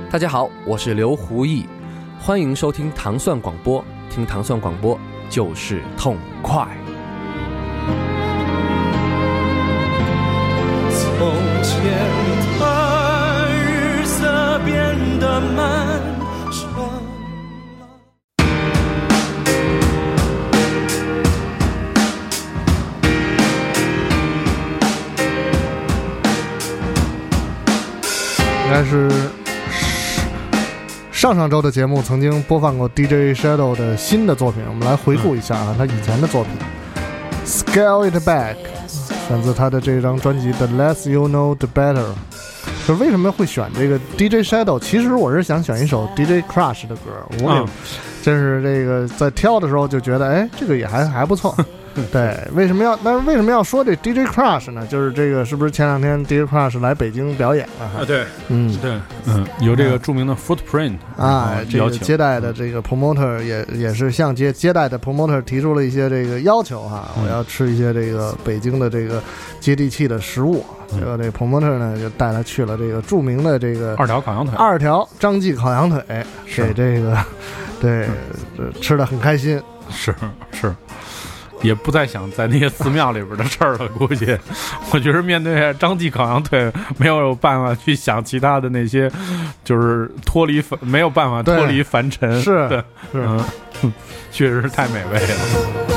大家好，我是刘胡毅，欢迎收听糖蒜广播，听糖蒜广播就是痛快。 从前的日色变得漫长。 应该是上周的节目曾经播放过 DJ Shadow 的新的作品，我们来回顾一下啊，他以前的作品 Scale It Back 选自他的这张专辑 The Less You Know The Better。 就为什么会选这个 DJ Shadow， 其实我是想选一首 DJ Crush 的歌，我真是这个在挑的时候就觉得这个也还不错。对，但是为什么要说这 DJ Crush 呢？就是这个是不是前两天 DJ Crush 来北京表演了？ 对，有这个著名的 Footprint 这个接待的这个 promoter 也是向接待的 promoter 提出了一些这个要求哈，我要吃一些这个北京的这个接地气的食物。这个 promoter 呢就带他去了这个著名的这个二条烤羊腿， 二条张记烤羊腿，给这个对吃得很开心。 是。也不再想在那些寺庙里边的事儿了，估计我觉得面对张记烤羊腿没有办法去想其他的那些，就是没有办法脱离凡尘。 是， 确实是太美味了。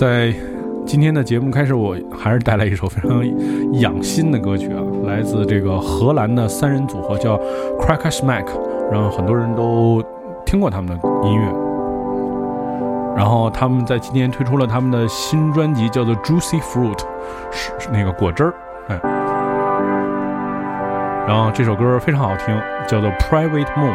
在今天的节目开始，我还是带来一首非常养心的歌曲啊，来自这个荷兰的3人组合叫 Cracker Smack， 然后很多人都听过他们的音乐。然后他们在今天推出了他们的新专辑，叫做 Juicy Fruit， 是那个果汁儿，哎。然后这首歌非常好听，叫做 Private Moon。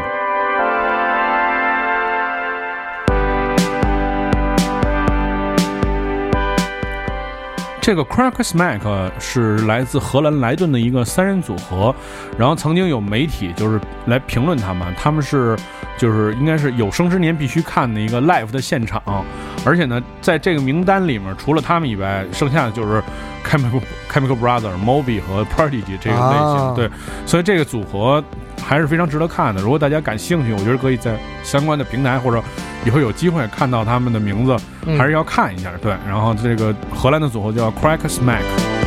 这个 Cracker Smack 是来自荷兰莱顿的一个3人组合，然后曾经有媒体就是来评论他们是就是应该是有生之年必须看的一个 live 的现场，而且呢，在这个名单里面除了他们以外，剩下的就是 Chemical Brothers、Moby 和 Prodigy 这个类型，对，所以这个组合还是非常值得看的。如果大家感兴趣，我觉得可以在相关的平台或者以后有机会看到他们的名字，还是要看一下。对，然后这个荷兰的组合叫 Cracker Smack。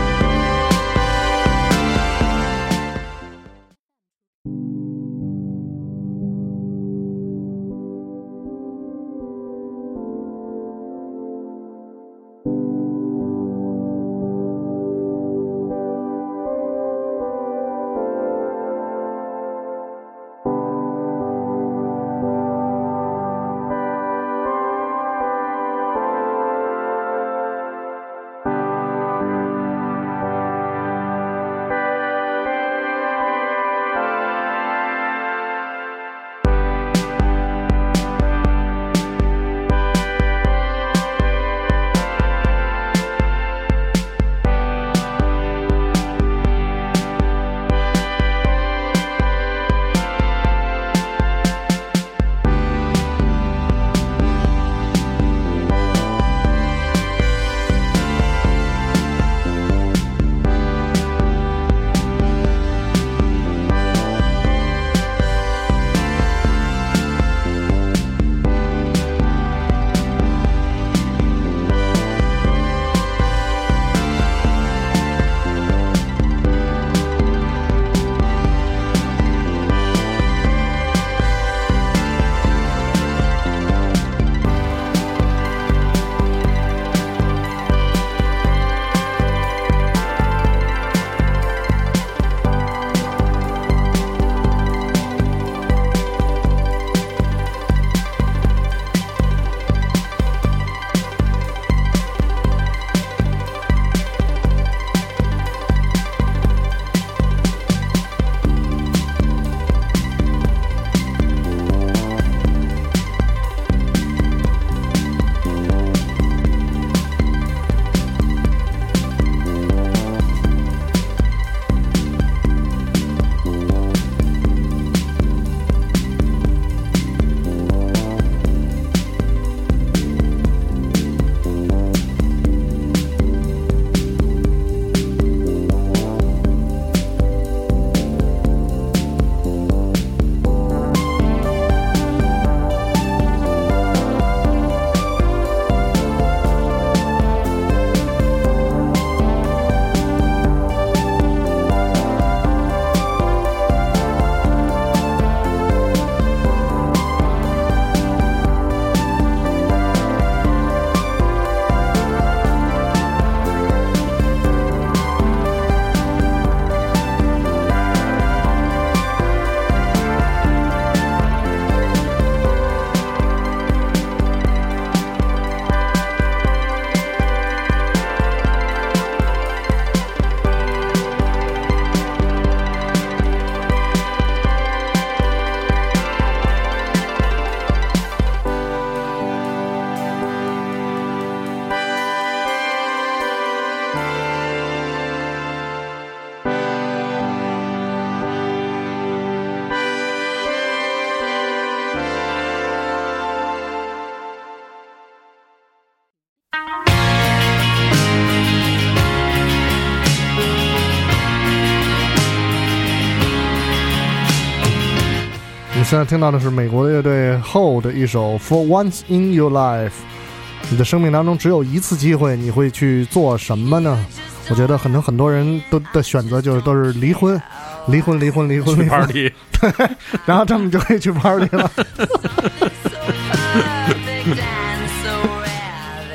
现在听到的是美国的乐队 Hole 的一首 For Once in Your Life。你的生命当中只有一次机会，你会去做什么呢？我觉得很多人的选择都是离婚去 party， 对，然后他们就可以去 party 了。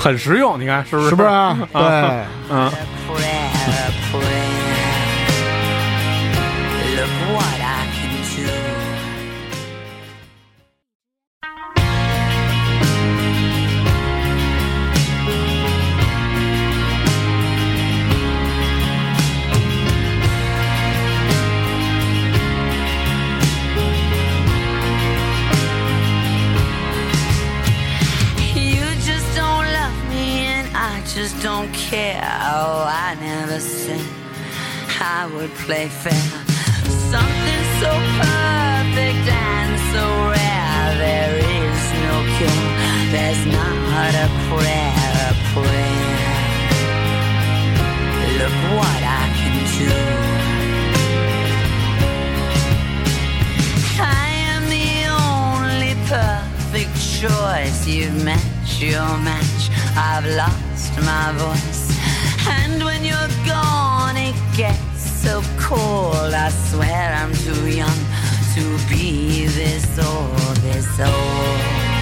很实用，你看是不是？ 是不是啊？对， 嗯。 Look what I can do. You just don't love me and I just don't care. Oh, I never said I would play fair. Something so perfect and so rare. There is no cure. There's not a prayer, a prayer. Look what I can do. I am the only perfect choice. You've matched your match. I've lost my voice. And when you're gone, it gets so cold. I swear I'm too young to be this old, this old.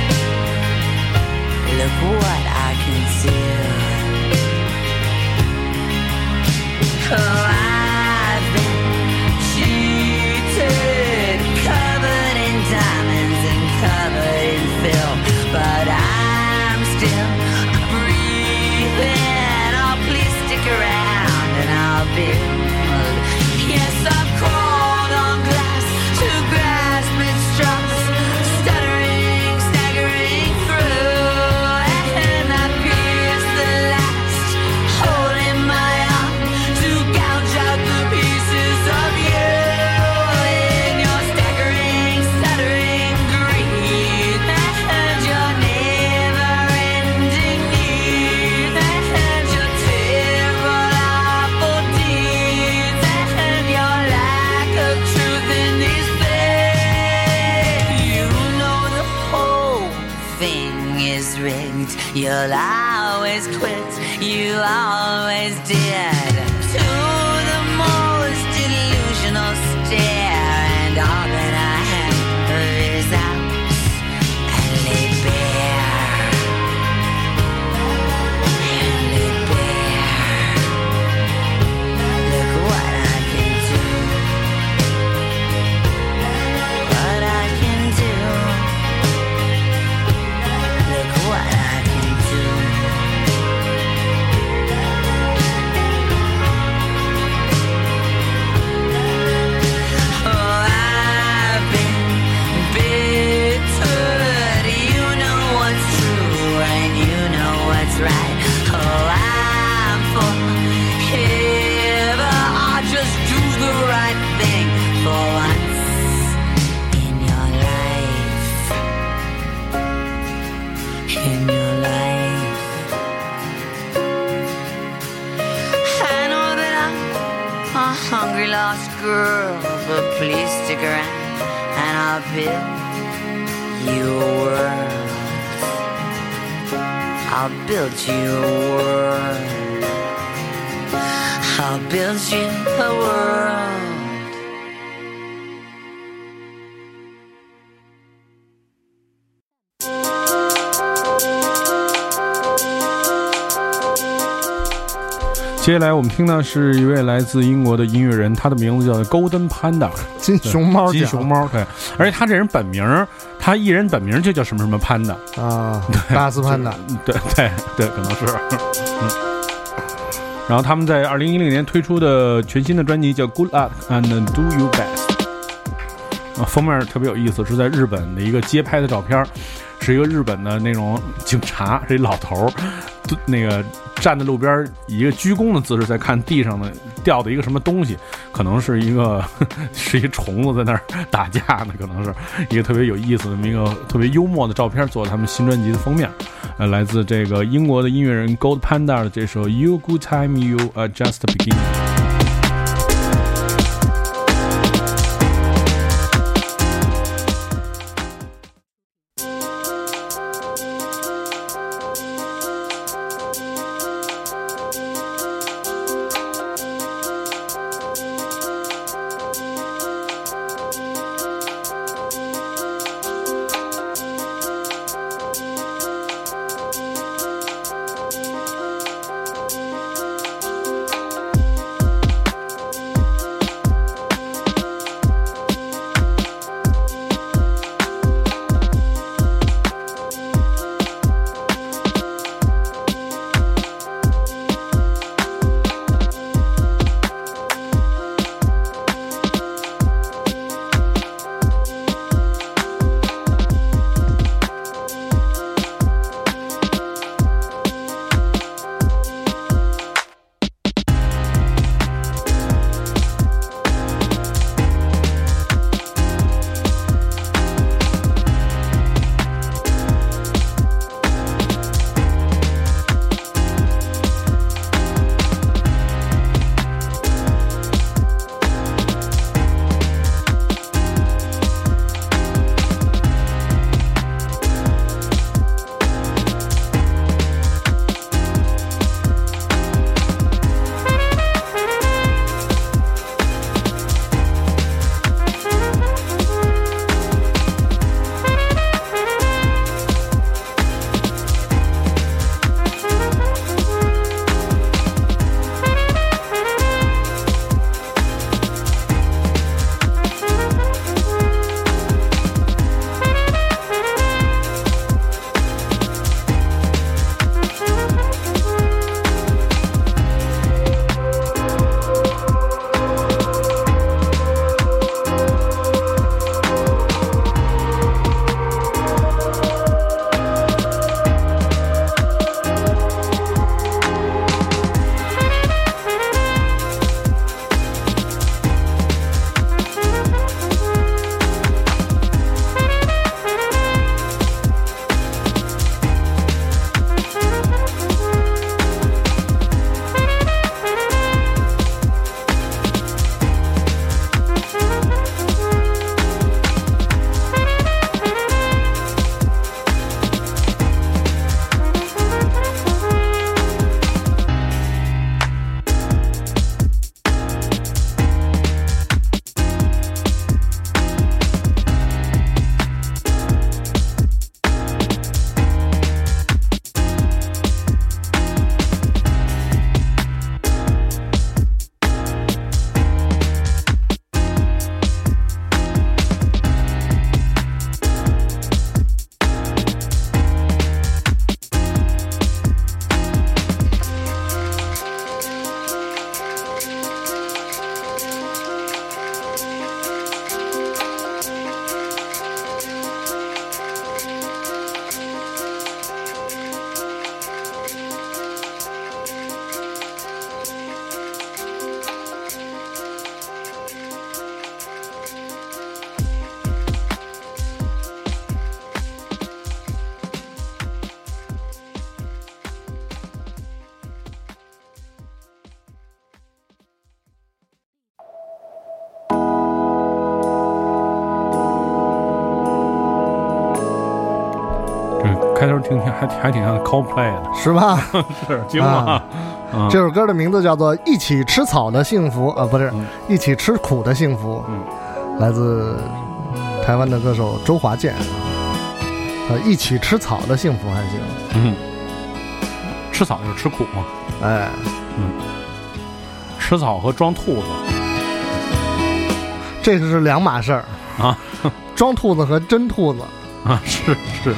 Look what I can do. Oh, I've been cheated, covered in diamonds and covered in filth, but I'm still breathing. Oh, please stick around and I'll build. Yes, I've crawled on glass to grasp its straws, stuttering, staggering through, and I pierce the last hole in my arm to gouge out the pieces of you. In your staggering, stuttering greed, and your never-ending need, and your terrible, awful deeds, and your lack of truth in these things. You know the whole thing is rigged. You'll always quit. You always did. To the most delusional stare, and all that I have is out and lay bare. And lay bare. Look what I can do. What I can do. Look what I can do. Oh, I've been bittered. You know what's true and you know what's right. Oh, I'm forever. I'll just do the right thing for once in your life. In your life. I know that I'm a hungry lost girl, but please stick around and I'll build you a world. I'll build you a world. I'll build you a world. 接下来我们听到是一位来自英国的音乐人，他的名字叫 Golden Panda， 金熊猫奖， 金熊猫，对，而且他这人本名，他艺人本名就叫什么什么 Panda 啊，大斯潘达， 对对对，可能是。然后他们在2010年推出的全新的专辑叫 Good Luck and Do Your Best， 封面特别有意思，是在日本的一个街拍的照片，是一个日本的那种警察，这老头那个站在路边以一个鞠躬的姿势在看地上的掉的一个什么东西，可能是一个是一虫子在那儿打架呢，可能是一个特别有意思的一个特别幽默的照片，做他们新专辑的封面。来自这个英国的音乐人 Gold Panda 的这首 You Good Time You Are Just Beginning。 开头听还挺像 Coldplay 的， 是吧？ 是惊了。 这首歌的名字叫做《一起吃草的幸福》啊，不是，一起吃苦的幸福。来自台湾的歌手周华健。一起吃草的幸福还行。 吃草就是吃苦嘛。 哎， 吃草和装兔子， 这是两码事儿啊。 装兔子和真兔子啊，是。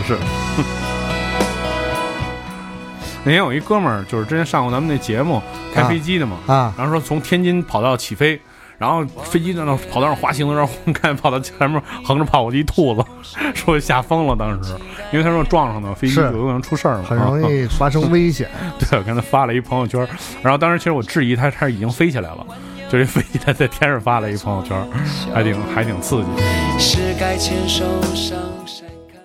那天有一哥们儿，就是之前上过咱们那节目开飞机的嘛，然后说从天津跑道起飞，然后飞机在那跑道上滑行的时候，看跑到前面横着跑过一兔子，说吓疯了当时，因为他说撞上的飞机有可能出事儿嘛， 很容易发生危险。 对，我看他发了一朋友圈，然后当时其实我质疑他已经飞起来了，就这飞机他在天上发了一朋友圈，还挺刺激。 是该牵手上山看。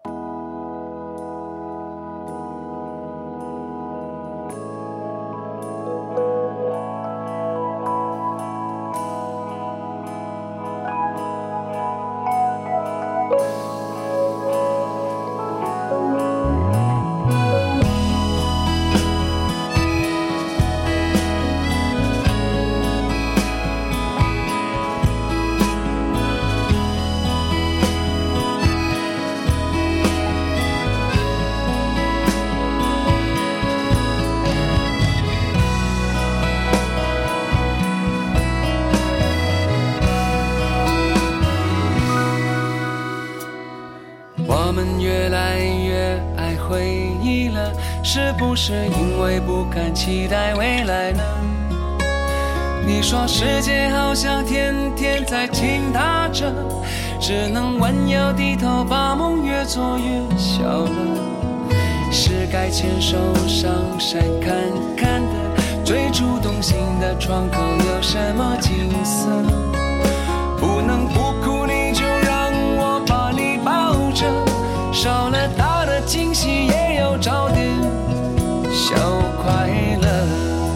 我们越来越爱回忆了，是不是因为不敢期待未来呢？你说世界好像天天在倾塌着，只能弯腰低头，把梦越做越小了。是该牵手上山看看的，最初动心的窗口有什么景色？不能不哭，你就让我把你抱着，少了大的惊喜，也要找点小快乐。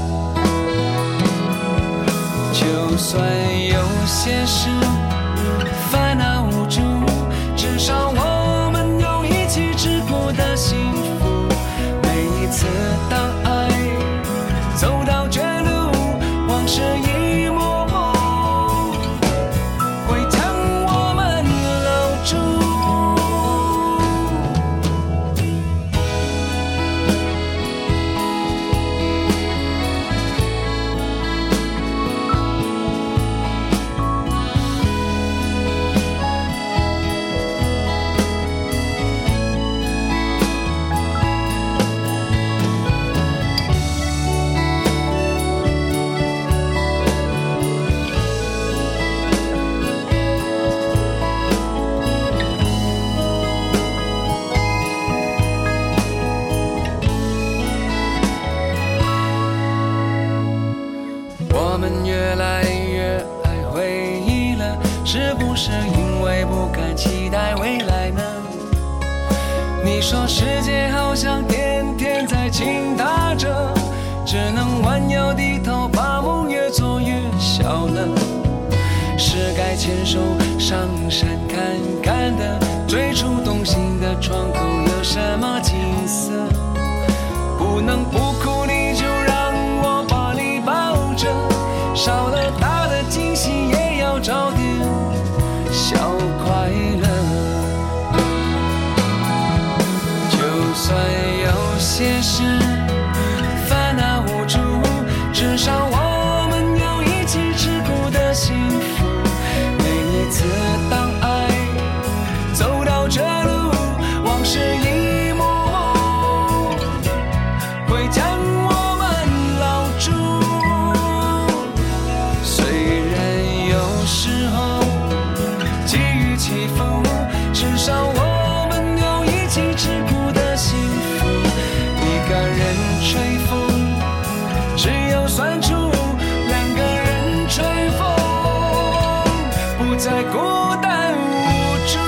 就算有些事烦恼无助，至少我们有一起吃过的幸福。每一次当爱走到绝路，往事一幕幕会将我们留住。我们越来越爱回忆了，是不是因为不敢期待未来呢？你说世界好像天天在倾塌着，只能弯腰低头，把梦越做越小了。是该牵手上山看看的，最初动心的窗口有什么景色？不能不哭，你就让我把你抱着，少了大的惊喜，也要找点小快乐。就算有些事烦恼无助，至少我们有一起吃苦的幸福。每一次当爱走到这路，往事一幕幕会将我们牢住。虽然有时候际遇起伏，至少我们有一起吃苦的幸福。一个人吹风，只有酸楚；两个人吹风，不再孤单无助。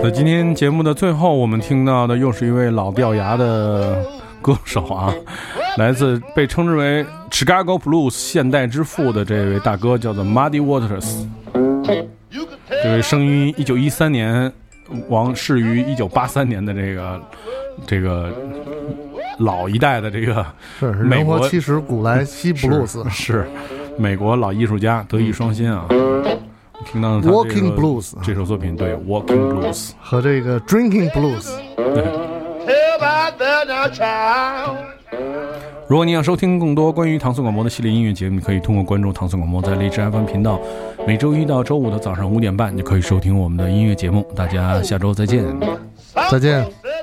在今天节目的最后，我们听到的又是一位老掉牙的歌手啊，来自被称之为 Chicago Blues 现代之父的这位大哥，叫做 Muddy Waters。这位生于1913年，亡逝于1983年的这个老一代的这个是美国人活70古来稀布鲁斯， 是美国老艺术家，德艺双馨啊。听到他 Walking Blues 这首作品，对 Walking Blues 和这个 Drinking Blues。 如果你想收听更多关于唐宋广播的系列音乐节目，你可以通过关注唐宋广播在荔枝 FM 频道，每周一到周五的早上5点半，你可以收听我们的音乐节目。大家下周再见， 再见。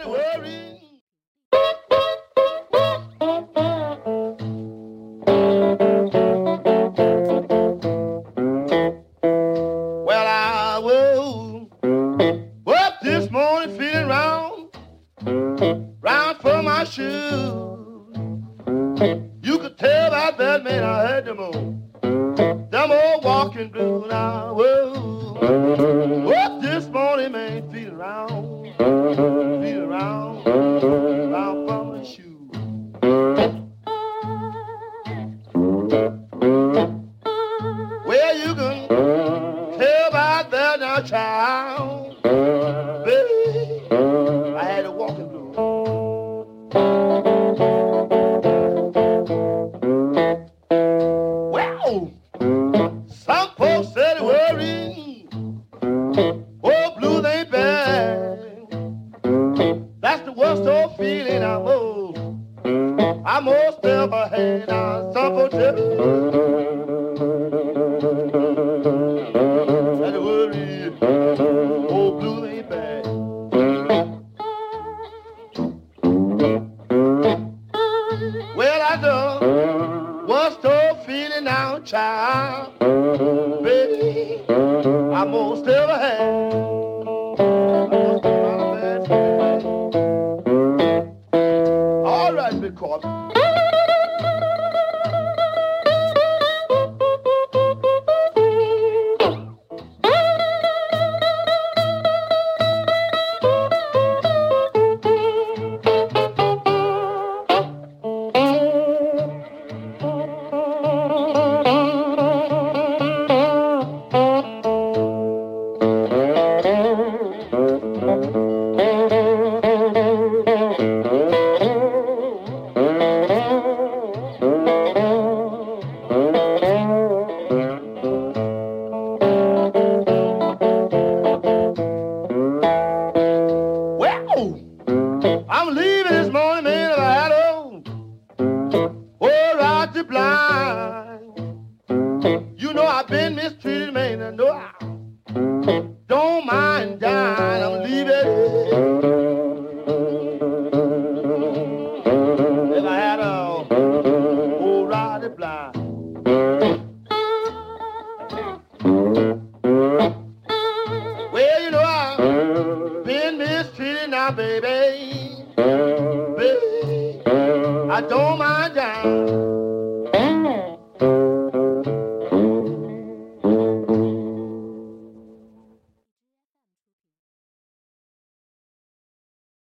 You could tell about that man I had them old walking blues now. Whoa, this morning man feeling round from the shoe. Well, you can tell about that now, child. Baby, I had a walking blues. Some folks said it worried. Oh, blues ain't bad. That's the worst old feeling I'm most ever had. Now, some folks tell me that it worried. Oh, blues ain't bad. Well, I know worst old feeling now, child. Baby, I most ever had. All right, Big Corbin. I'm leaving this morning, man, if I had right to blind. You know I've been mistreated, man, I know I don't mind dying. I'm leaving. If I had right to blind. Well, you know I've been mistreated now, baby. Baby, I don't mind dying.